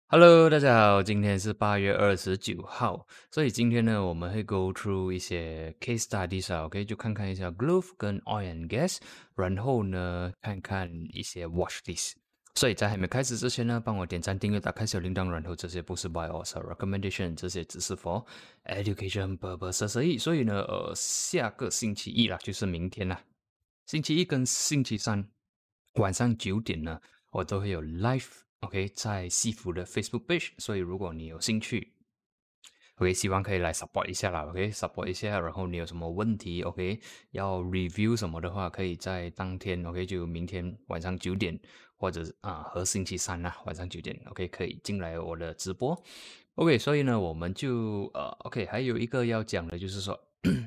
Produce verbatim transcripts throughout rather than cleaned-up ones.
Hello，大家好，今天是八月二十九号，所以今天呢，我们会 go through 一些 case studies 啊，OK，就看看一下 glove 跟 oil and gas，然后呢，看看一些 watch list。所以在还没开始之前呢，帮我点赞、订阅、打开小铃铛，然后这些不是 buy or sell recommendation，这些只是 for education purposes 而已。所以呢，呃，下个星期一啦，就是明天啦，星期一跟星期三晚上九点呢，我都会有 live。OK，在西服的 Facebook page，所以如果你有兴趣，OK，希望可以来 support 一下啦，OK，support 一下，然后你有什么问题，OK，要 review 什么的话，可以在当天，OK，就明天晚上九点，或者啊和星期三呐、晚上九点，OK，可以进来我的直播，OK，所以呢，我们就呃，OK，还有一个要讲的就是说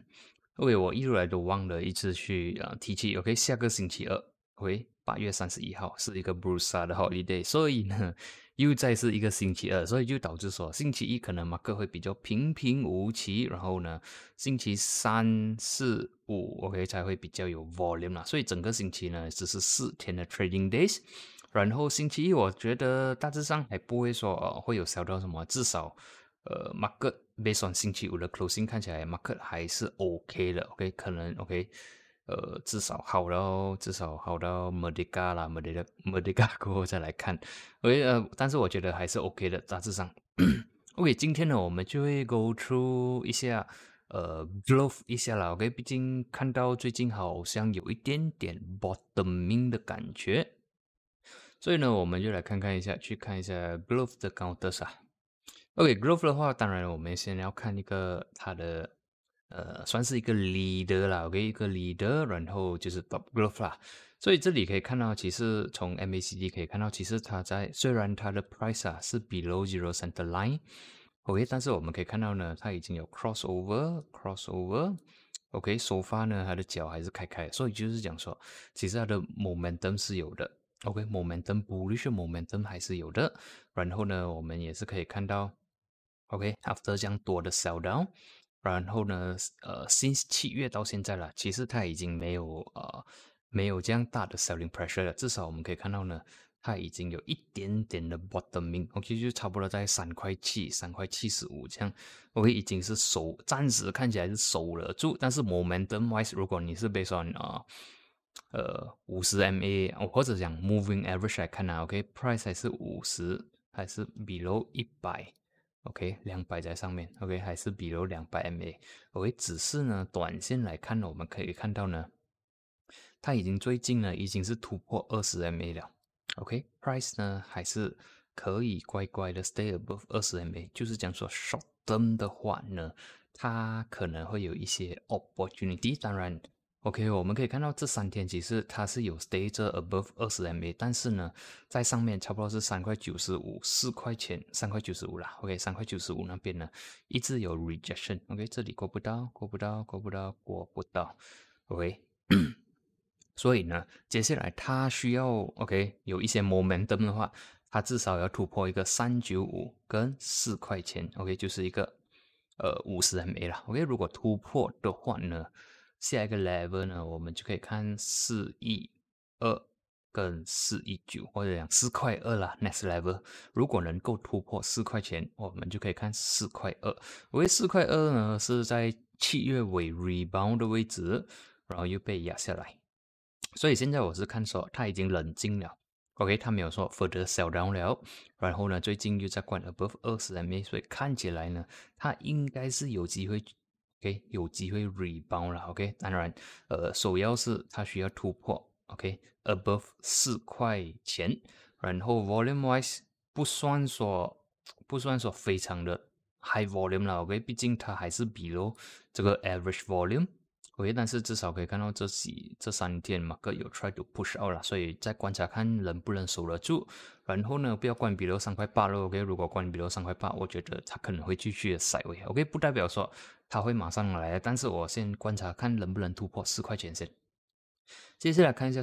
，OK，我一路来都忘了一直去啊、呃、提起，OK，下个星期二。OK，八月三十一号是一个 Brusa 的 holiday，所以呢，又再是一个星期二，所以就导致说星期一可能马克会比较平平无奇，然后呢，星期三、四、五 OK 才会比较有 volume 啦，所以整个星期呢只是四天的 trading days，然后星期一我觉得大致上还不会说、呃、会有小到什么，至少呃 market based on 星期五的 closing 看起来 market 还是 OK 的 ，OK 可能 OK。呃，至少好到至少好到 Merdeka 啦，Merdeka Merdeka 过后再来看，OK，呃，但是我觉得还是 OK 的，大致上。OK，今天呢，我们就会 go through 一下，呃，glove 一下啦，OK，毕竟看到最近好像有一点点 bottoming 的感觉，所以呢，我们就来看看一下，去看一下 glove 的 counters 啊。OK，glove 的话，当然我们先要看一个它的呃，算是一个 leader 啦，OK，一个 leader，然后就是 top glove 啦。所以这里可以看到，其实从 M A C D 可以看到，其实它在虽然它的 price 啊是 below zero center line，OK，但是我们可以看到呢，它已经有 crossover，crossover，OK，so far 呢，它的脚还是开开的，所以就是讲说，其实它的 momentum 是有的，OK，momentum bullish momentum 还是有的。然后呢，我们也是可以看到。OK，after、okay, 这样多的 sell down，然后呢，呃，since 七月到现在了，其实它已经没有呃没有这样大的 selling pressure 了，至少我们可以看到呢，它已经有一点点的 bottoming，OK，、okay, 就差不多在三块七、三块七十五这样，OK，已经是守，暂时看起来是守了住，但是 momentum wise，如果你是 based on 啊、呃。呃，五十 M A 或者讲 moving average 来看啊，OK，price、okay, 还是五十，还是 below 一百。OK， 两百在上面 ，OK， 还是比如两百 M A，OK， 只是呢，短线来看呢，我们可以看到呢，它已经最近呢已经是突破二十 M A 了，OK，price、okay? 呢还是可以乖乖的 stay above 二十 M A，就是讲说 short term 的话呢，它可能会有一些 opportunity，当然。OK，我们可以看到这三天其实它是有 stay 着 above 二十 M A， 但是呢，在上面差不多是三块九十五，四块钱，三块九十五啦。OK，三块九十五那边呢一直有 rejection。OK，这里过不到，过不到，过不到，过不到。OK，所以呢，接下来它需要 OK 有一些 momentum 的话，它至少要突破一个三九五跟四块钱。OK，就是一个呃五十 M A 啦。OK，如果突破的话呢？下一个 level 呢，我们就可以看四一二跟四一九，或者讲四块二啦 next level。如果能够突破四块钱，我们就可以看四块二。为四块二呢是在七月尾 rebound 的位置，然后又被压下来。所以现在我是看说它已经冷静了。OK，它没有说 further sell down 了，然后呢，最近又在关 above 二十 M A， 所以看起来呢，它应该是有机会。OK， 有机会 rebound 了 ，OK， 当然，呃，首要是它需要突破 ，OK，above、okay? 四块钱，然后 volume wise 不算说不算说非常的 high volume 了，OK， 毕竟它还是比 below 这个 average volume，OK， 但是至少可以看到这几这三天嘛，各有 try to push out 了，所以再观察看能不能守得住，然后呢，不要关 below 三块八了 ，OK， 如果关 below 三块八，我觉得它可能会继续的 sideways，OK， 不代表说。它会马上来，但是我先观察看能不能突破四块钱先。接下来看一下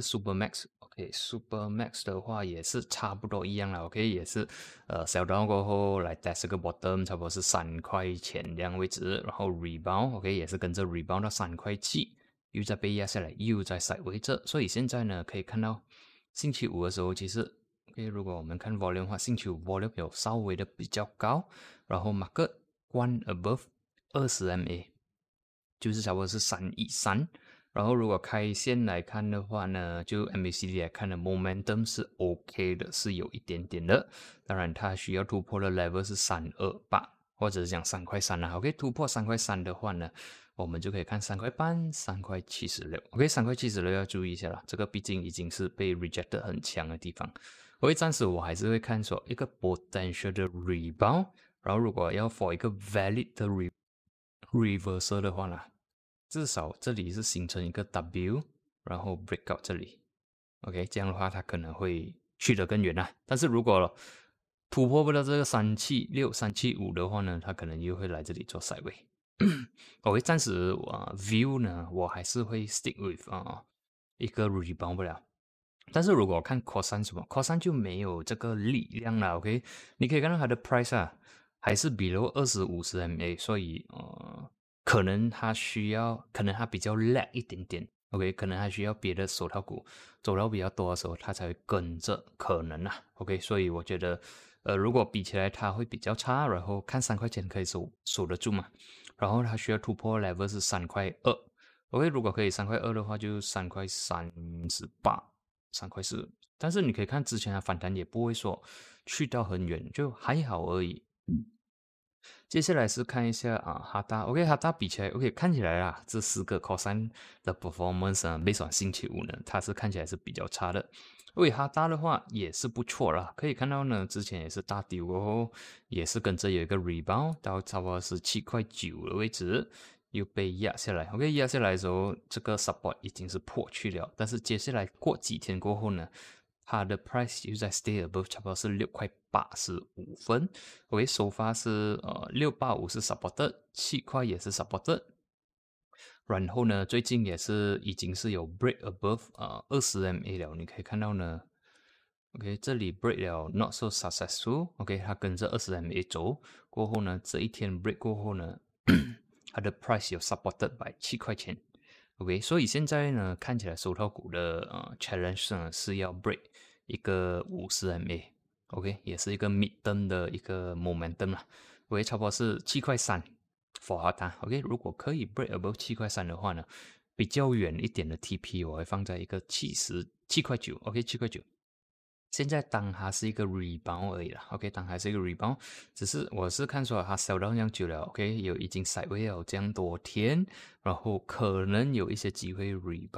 Supermax，OK，Supermax、okay, 的话也是差不多一样了 ，OK， 也是呃 sell down 过后来 test 个 bottom， 差不多是三块钱这样位置，然后 rebound，OK，、okay, 也是跟着 rebound 到三块七，又再被压下来，又在 sideways 这，所以现在呢可以看到星期五的时候其实。 OK， 如果我们看 volume 的话，星期五 volume 有稍微的比较高，然后 market 关 above 二十 M A， 就是差不多是三以上。然后如果开线来看的话呢，就 M A C D 来看的 momentum 是 OK 的，是有一点点的。当然它需要突破的 level 是三二八，或者是讲三块三啦。OK， 突破三块三的话呢，我们就可以看三块半、三块七十六。OK， 三块七十六要注意一下啦，这个毕竟已经是被 reject 很强的地方。OK， 暂时我还是会看说一个 potential 的 rebound， 然后如果要 for 一个 valid 的 re reversal 的话呢，至少这里是形成一个 W， 然后 breakout 这里 ，OK， 这样的话它可能会去得更远啊。但是如果突破不了这个三七六、三七五的话呢，它可能又会来这里做 sideway。OK， 暂时啊、uh, view 呢，我还是会 stick with 啊、uh, 一个 rebound 不了。但是如果看 cos 什么 cos 就没有这个力量了。OK， 你可以看到它的 price 啊，还是比如二十五十 M A， 所以呃。可能它需要，可能它比较 lag 一点点 ，OK， 可能它需要别的手套股走到比较多的时候，它才会跟着，可能啊 ，OK， 所以我觉得，呃，如果比起来它会比较差，然后看三块钱可以守守得住嘛，然后它需要突破 level 是三块二 ，OK， 如果可以三块二的话，就三块三十八，三块四，但是你可以看之前的反弹也不会说去到很远，就还好而已。接下来是看一下啊，哈达 ，OK， 哈达比起来 ，OK， 看起来啦，这四个 cos 的 performance 啊，based on 星期五呢，它是看起来是比较差的。OK，哈达的话也是不错啦，可以看到呢，之前也是大跌过后，也是跟着有一个 rebound 到差不多是七块九的位置，又被压下来。OK， 压下来的时候，这个 support 已经是破去了，但是接下来过几天过后呢？它的 price 又在 stay above， 差不多是六块八十五分。OK， 首发是呃六八五是 supported， 七块也是 supported。然后呢，最近也是已经是有 break above 呃二十 M A 了，你可以看到呢。OK， 这里 break 了 not so successful。OK， 它跟着二十 M A 走过后呢，这一天 break 过后呢，它的 price 有 supported by 七块钱。OK， 所以现在呢，看起来手套股的呃 challenge 呢是要 break 一个五十 M A，OK， 也是一个 mid term 的一个 momentum 啦。OK， 差不多是七块三 for 它。OK， 如果可以 break above 七块三的话呢，比较远一点的 T P 我会放在一个七十七块九 ，OK， 七块九。现在当它是一个 rebound 而已啦 ，OK， 当它是一个 rebound， 只是我是看说它 sell down 这样久了 ，OK， 有已经 sideway 了这样多天，然后可能有一些机会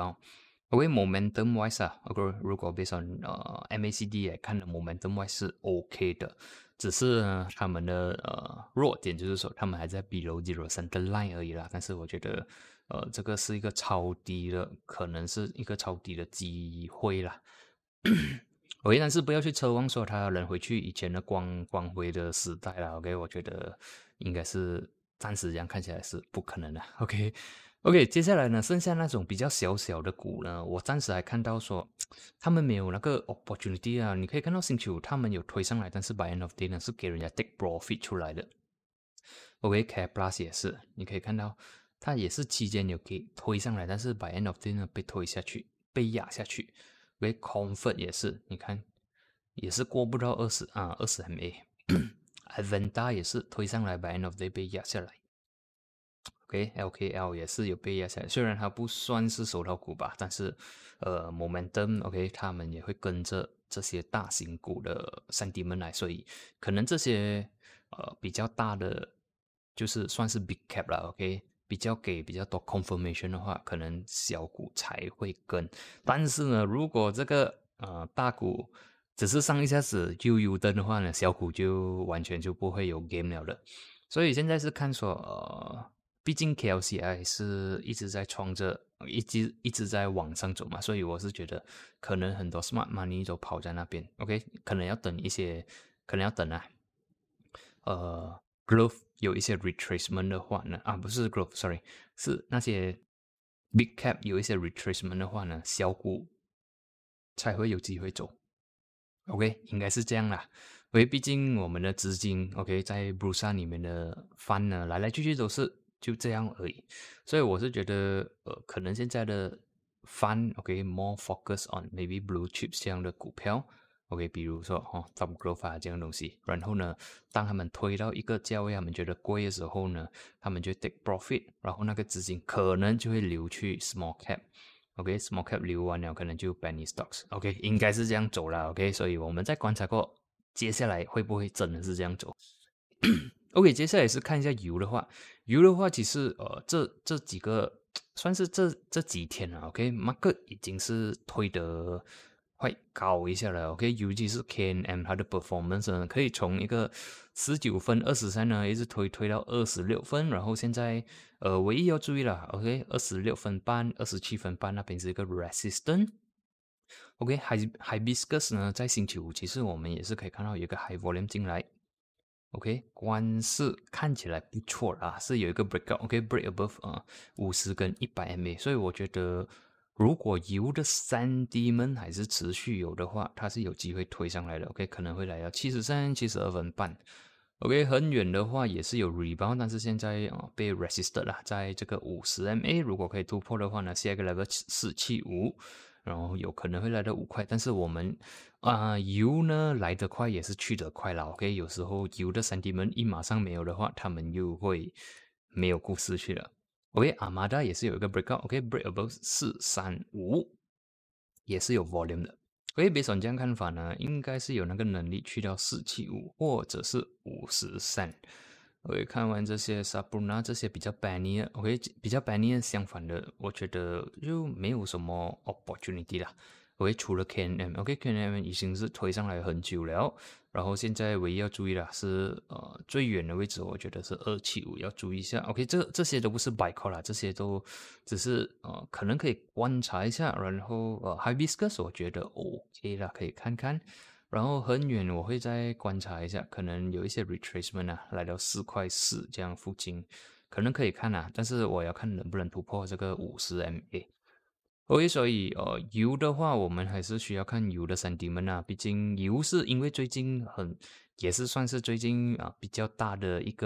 rebound。OK，momentum wise 啊 ，OK， 如果 based on 呃 M A C D 来看的 momentum wise 是 OK 的，只是呢他们的呃弱点就是说他们还在 below zero center line 而已啦，但是我觉得呃这个是一个超低的，可能是一个超低的机会啦。OK， 但是不要去奢望说他能回去以前的光光辉的时代了。OK， 我觉得应该是暂时这样看起来是不可能的。OK，OK，、OK, 接下来呢，剩下那种比较小小的股呢，我暂时还看到说他们没有那个 opportunity 啊。你可以看到星期五他们有推上来，但是 by end of day 呢是给人家 take profit 出来的。OK，Care Plus 也是，你可以看到它也是期间有给推上来，但是 by end of day 呢被推下去，被压下去。为 Comfort 也是，你看也是过不到二十啊二十 M A。Aventa 也是推上来 by end of day 被压下来。OK，L K L 也是有被压下来，虽然它不算是手套股吧，但是呃 Momentum OK 他们也会跟着这些大型股的sentiment来，所以可能这些呃比较大的就是算是 big cap 了 OK。比较给比较多 confirmation 的话，可能小股才会跟。但是呢，如果这个呃大股只是上一下子就 U 灯的话呢，小股就完全就不会有 game 了的。所以现在是看说，呃，毕竟 K L C I 是一直在创着，一直一直在往上走嘛，所以我是觉得可能很多 smart money 都跑在那边。OK， 可能要等一些，可能要等啊，呃。Growth 有一些 retracement 的话呢，啊不是 growth，sorry， 是那些 big cap 有一些 retracement 的话呢，小股才会有机会走。OK， 应该是这样啦。因为毕竟我们的资金 OK 在 Bursa 里面的 fund 呢，来来去去都是就这样而已。所以我是觉得，呃，可能现在的 fund OK more focus on maybe blue chips 这样的股票。 OK，比如说哦 ，Top Growth 啊这样的东西，然后呢，当他们推到一个价位，他们觉得贵的时候呢，他们就 take profit，然后那个资金可能就会流去 small cap。OK，small cap 流完了，可能就 penny stocks。OK，应该是这样走了。OK，所以我们再观察过，接下来会不会真的是这样走？OK，接下来是看一下油的话，油的话其实呃这这几个算是这这几天了。OK，market 已经是推得快高一下了。OK，尤其是 K N M 它的 performance 呢，可以从一个十九分二十三呢，一直推推到二十六分，然后现在呃唯一要注意了 ，OK， 二十六分半、二十七分半那边是一个 resistance。OK，Hibiscus 呢在星期五其实我们也是可以看到有一个 high volume 进来。OK， 关是看起来不错啦，是有一个 breakout。OK，break、okay, above 啊、呃，五十跟一百 M A， 所以我觉得如果油的三 D 们还是持续有的话，它是有机会推上来的。OK， 可能会来到七十三、七十二分半。OK， 很远的话也是有 rebound， 但是现在啊、呃、被 resisted 啦，在这个五十 M A， 如果可以突破的话呢，下一个 level 四七五。然后有可能会来到五块，但是我们啊、呃、油呢来得快也是去得快啦。OK， 有时候油的三 D 门一马上没有的话，他们又会没有故事去了。OK，Armada 也是有一个 breakout。OK，break above 四三五也是有 volume 的。OK，based on 这样看法呢，应该是有那个能力去到四七五或者是五十三。OK， 看完这些 Sabrina 这些比较 banny OK， 比较 banny 相反的，我觉得就没有什么 opportunity 啦。OK， 除了 K N M，OK，K N M 已经是推上来很久了，然后现在唯一要注意的是呃最远的位置，我觉得是二七五要注意一下。OK， 这这些都不是 buy call 啦，这些都只是呃可能可以观察一下，然后呃 Hibiscus 我觉得 OK 啦，可以看看。然后很远我会再观察一下，可能有一些 retracement 啊，来到四块四这样附近，可能可以看啊，但是我要看能不能突破这个五十 M A。OK， 所以呃油的话，我们还是需要看油的 sentiment 啊，毕竟油是因为最近很也是算是最近啊比较大的一个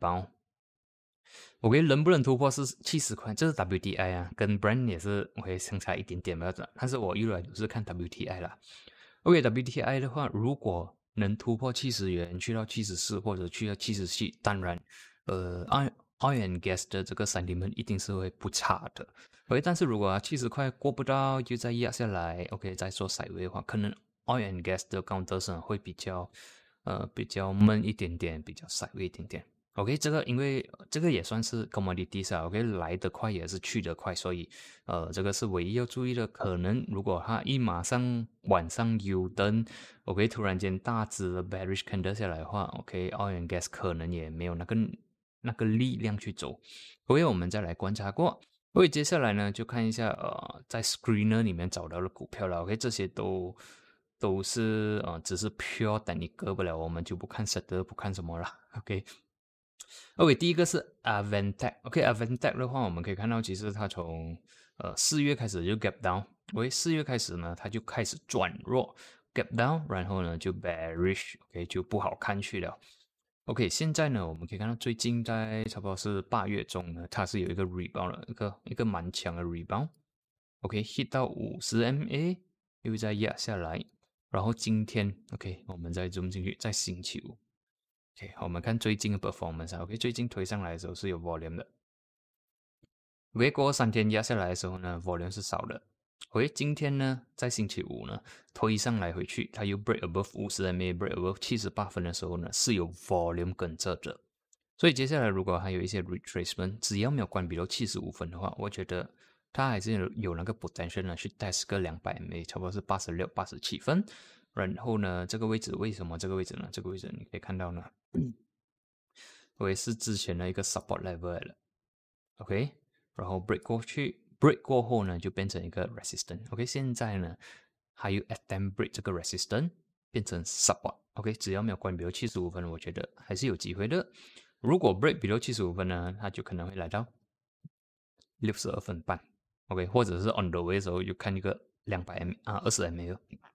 rebound。OK， 能不能突破是七十块，这是 W T I 啊，跟 Brent 也是会相差一点点吧，但是我一来都是看 W T I 啦。OK，W T I 的话，如果能突破七十元，去到七十四或者去到七十七，当然，呃，oil oil and gas 的这个 sentiment 一定是会不差的。OK，但是如果七十块过不到，又再压下来 ，OK， 再说 sideways 的话，可能 oil and gas 的 counter 会比较，呃，比较闷一点点，比较 sideways 一点点。OK， 这个因为这个也算是 commodities 啊 ，OK， 来得快也是去得快，所以呃，这个是唯一要注意的。可能如果它一马上晚上 U 灯 ，OK， 突然间大只的 bearish candle 下来的话 ，OK，oil and gas 可能也没有那个那个力量去走。OK， 我们再来观察过。OK， 接下来呢就看一下呃，在 screener 里面找到的股票了。OK， 这些都都是呃，只是 pure 等你割不了，我们就不看 sector， 不看什么了。OK。OK， 第一个是 Avantech。OK，Avantech、okay, 的话，我们可以看到，其实它从呃四月开始就 gap down。OK， 四月开始呢，它就开始转弱 ，gap down，然后呢就 bearish，OK，、okay, 就不好看去了。OK， 现在呢，我们可以看到最近在差不多是八月中呢，它是有一个 rebound 的，一个一个蛮强的 rebound。OK，hit、okay, 到五十 M A， 又再压下来，然后今天 OK， 我们再 zoom 进去，在星期五。OK， 我们看最近的 performance。OK， 最近推上来的时候是有 volume 的。OK， 过后三天压下来的时候呢 ，volume 是少的。OK， 今天呢，在星期五呢，推上来回去，它又 break above 五十 M A，break above 七十八分的时候呢，是有 volume 跟着的。所以接下来如果还有一些 retracement， 只要没有关闭到七十五分的话，我觉得它还是有有那个 potential 呢，去 test 个两百 M A， 差不多是八十六、八十七分。然后呢，这个位置为什么这个位置呢？这个位置你可以看到呢，我是之前的一个 support level 了 ，OK， 然后 break 过去 ，break 过后呢就变成一个 resistance，OK， 现在呢还有 attempt break 这个 resistance 变成 support，OK， 只要没有关闭七十五分，我觉得还是有机会的。如果 break 比到七十五分呢，它就可能会来到六十二分半 ，OK， 或者是 on the way 的时候就看一个两百 M 啊二十 M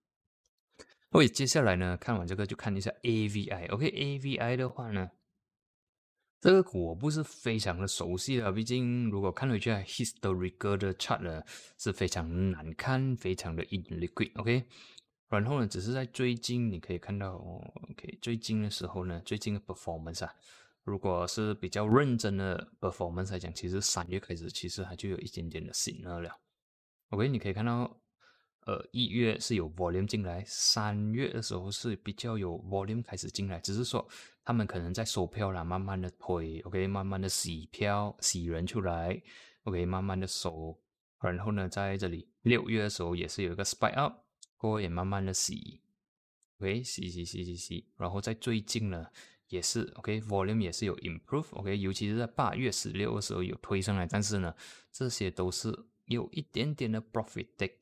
A。OK， 接下来呢，看完这个就看一下 A V I。OK，A V I 的话呢，这个股我不是非常的熟悉了，毕竟如果看回去 historical 的 chart 呢是非常难看，非常的 illiquid。OK， 然后呢，只是在最近你可以看到、哦、，OK， 最近的时候呢，最近的 performance 啊，如果是比较认真的 performance 来讲，其实三月开始其实它就有一点点的 signal 了。OK， 你可以看到，呃，一月是有 volume 进来，三月的时候是比较有 volume 开始进来，只是说他们可能在收票啦，慢慢的推 ，OK， 慢慢的洗票，洗人出来 ，OK， 慢慢的收，然后呢，在这里六月的时候也是有一个 spike up。过后也慢慢的洗 ，OK， 洗洗洗洗洗，然后在最近呢也是 OK，volume 也是有 improve，OK，尤其是在八月十六的时候有推上来，但是呢这些都是有一点点的 profit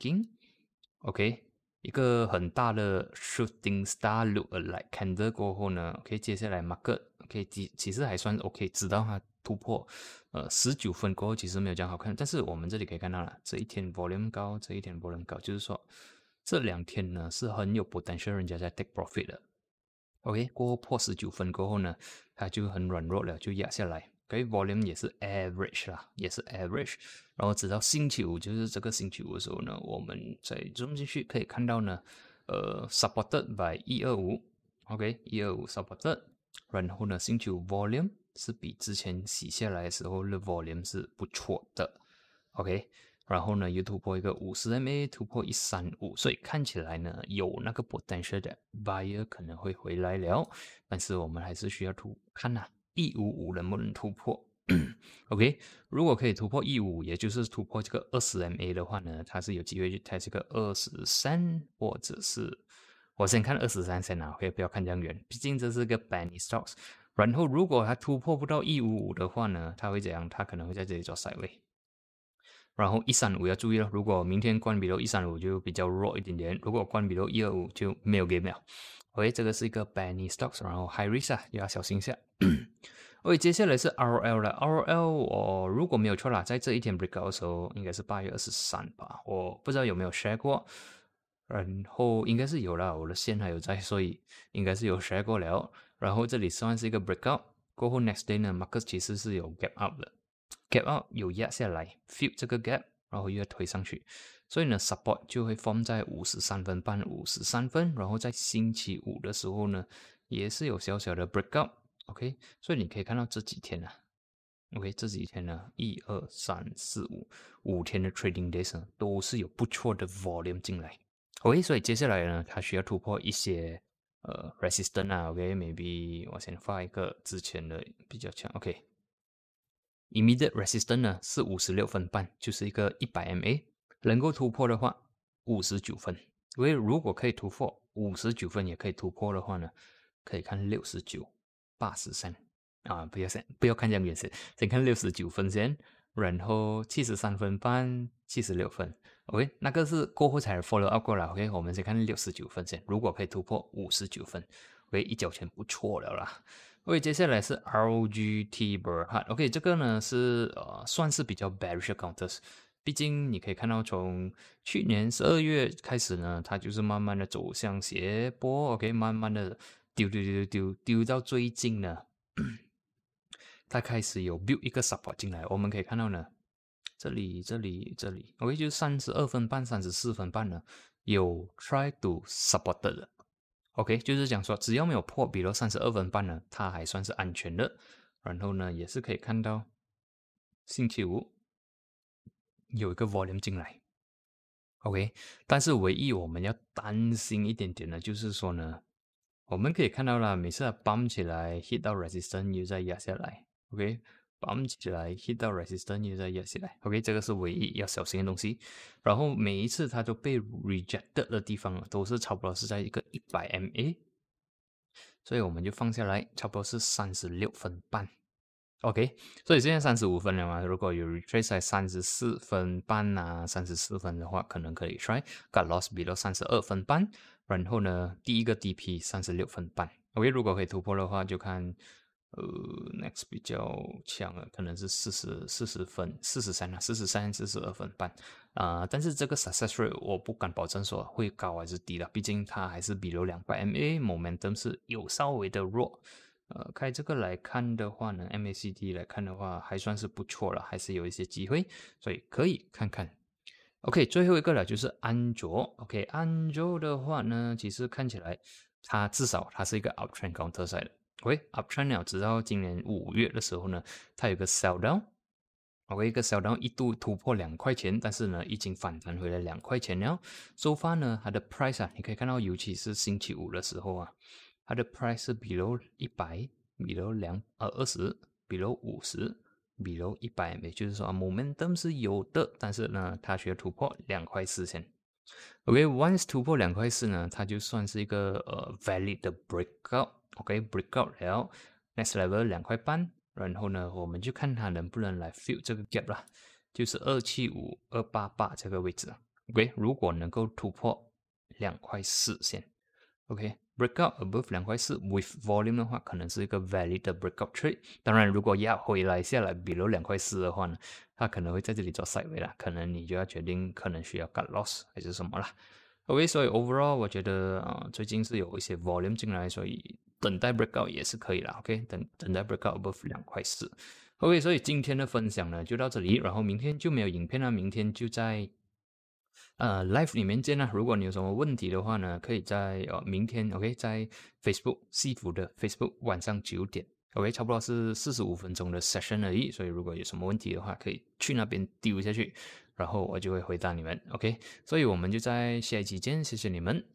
taking，OK，一个很大的 shooting star look alike candle 过后呢 ，OK， 接下来 market OK 其其实还算 OK， 直到它突破呃十九分过后，其实没有这样好看，但是我们这里可以看到了，这一天 volume 高，这一天 volume 高，就是说。这两天呢是很有 potential 人家在 take profit 的 ，OK， 过后破十九分过后呢，它就很软弱了，就压下来。OK， volume 也是 average 啦，也是 average。然后直到星期五，就是这个星期五的时候呢，我们在 zoom 进去可以看到呢，呃 supported by 一二五 ，OK， 一二五 supported。然后呢，星期五 volume 是比之前洗下来的时候的 volume 是不错的 ，OK。然后呢，又突破一个五十 M A， 突破一三五，所以看起来呢，有那个 potential 的 buyer 可能会回来了，但是我们还是需要突看呐、啊，一五五能不能突破？OK， 如果可以突破一五五，也就是突破这个二十 M A 的话呢，它是有机会去 test 这个二十三，或者是我先看二十三先啊 ，OK， 不要看这样远，毕竟这是个 penny stocks。然后如果它突破不到一五五的话呢，它会怎样？它可能会在这里做 side way。然后一三五要注意了，如果明天关闭了一三五就比较弱一点点，如果关闭了一二五就没有 game 了。OK， 这个是一个 penny stocks， 然后 high risk 啊，要小心一下。OK， 接下来是 R L 了 ，R L 我如果没有错啦，在这一天 breakout 的时候，应该是八月二十三吧，我不知道有没有 share 过，然后应该是有啦，我的线还有在，所以应该是有 share 过了。然后这里算是一个 breakout，过后 next day 呢 ，market 其实是有 gap up 的。gap out 有压下来 fill 这个 gap， 然后又要推上去，所以呢 support 就会 form 在五十三分半五十三分，然后在星期五的时候呢也是有小小的 breakout， OK， 所以你可以看到这几天啊 OK， 这几天呢一二三四五五天的 trading days 呢都是有不错的 volume 进来 OK， 所以接下来呢它需要突破一些呃 resistance 啊 OK，maybe 我先画一个之前的比较强 OK，immediate resistance 呢是五十六分半，就是一个一百 M A， 能够突破的话五十九分，因为如果可以突破五十九分也可以突破的话呢，可以看六十九、八十三啊，不要先不要看这样远先，先看六十九分先，然后七十三分半、七十六分 ，OK， 那个是过后才 follow up 过来 ，OK， 我们先看六十九分先，如果可以突破五十九分 ，OK， 一角钱不错了啦。OK， 接下来是 R G T Berhad。OK， 这个呢是呃算是比较 bearish counters， 毕竟你可以看到从去年十二月开始呢，它就是慢慢的走向斜坡 ，OK， 慢慢的丢丢丢丢丢到最近呢，它开始有 build 一个 support 进来，我们可以看到呢，这里这里这里 ，OK， 就是三十二分半、三十四分半呢，有 try to support 的。OK， 就是讲说，只要没有破，比如三十二分半呢，它还算是安全的。然后呢，也是可以看到星期五有一个 volume 进来。OK，但是唯一我们要担心一点点的，就是说呢，我们可以看到啦，每次它 bump 起来 hit 到 resistance 又再压下来。OK，bump 起来 hit 到 resistance 又再压下来。OK，这个是唯一要小心的东西。然后每一次它都被 rejected 的地方，都是差不多是在一个一百 M A。所以我们就放下来，差不多是三十六分半 ，OK。所以现在三十五分了嘛，如果有 retrace 在三十四分半啊，三十四分的话，可能可以 try。Got loss below 三十二分半，然后呢，第一个 D P 三十六分半 ，OK。如果可以突破的话，就看呃 next 比较强了，可能是四十四十分，四十三啊，四十三四十二分半啊、呃。但是这个 success rate 我不敢保证说会高还是低了，毕竟它还是比如两百 M A，momentum 是有稍微的弱。呃，开这个来看的话呢 ，M A C D 来看的话，还算是不错了，还是有一些机会，所以可以看看。 OK，最后一个了就是安卓。OK，安卓的话呢，其实看起来它至少它是一个 uptrend counter side 的。OK，uptrend 了，直到今年五月的时候呢，它有一个 sell down。OK，一个 sell down一度突破两块钱，但是呢，已经反弹回来两块钱了。So far 呢，它的 price 啊，你可以看到，尤其是星期五的时候啊，它的 price 是 below 一百，below 两呃二十，below 五十。below 一百，也就是说 momentum 是有的，但是呢，它需要突破两块四先。OK，once、okay, 突破两块四呢，它就算是一个呃 valid 的 breakout。OK，breakout、okay, 了 ，next level 两块半，然后呢，我们就看它能不能来 fill 这个 gap 啦，就是二七五、二八八这个位置。OK， 如果能够突破两块四先。OK，breakout、okay, above 两块四 with volume 的话，可能是一个 valid 的 breakout trade。当然，如果压回来下来 below 两块四的话呢，它可能会在这里做 sideway 啦，可能你就要决定可能需要 cut loss 还是什么啦。OK， 所以 overall 我觉得啊、呃，最近是有一些 volume 进来，所以等待 breakout 也是可以啦。OK， 等等待 breakout above 两块四。OK， 所以今天的分享呢就到这里，然后明天就没有影片了，明天就在。呃，live 里面见啦。如果你有什么问题的话呢，可以在呃明天 OK 在 Facebook 西服的 Facebook 晚上九点 OK， 差不多是四十五分钟的 session 而已。所以如果有什么问题的话，可以去那边丢下去，然后我就会回答你们 OK。所以我们就在下一期见，谢谢你们。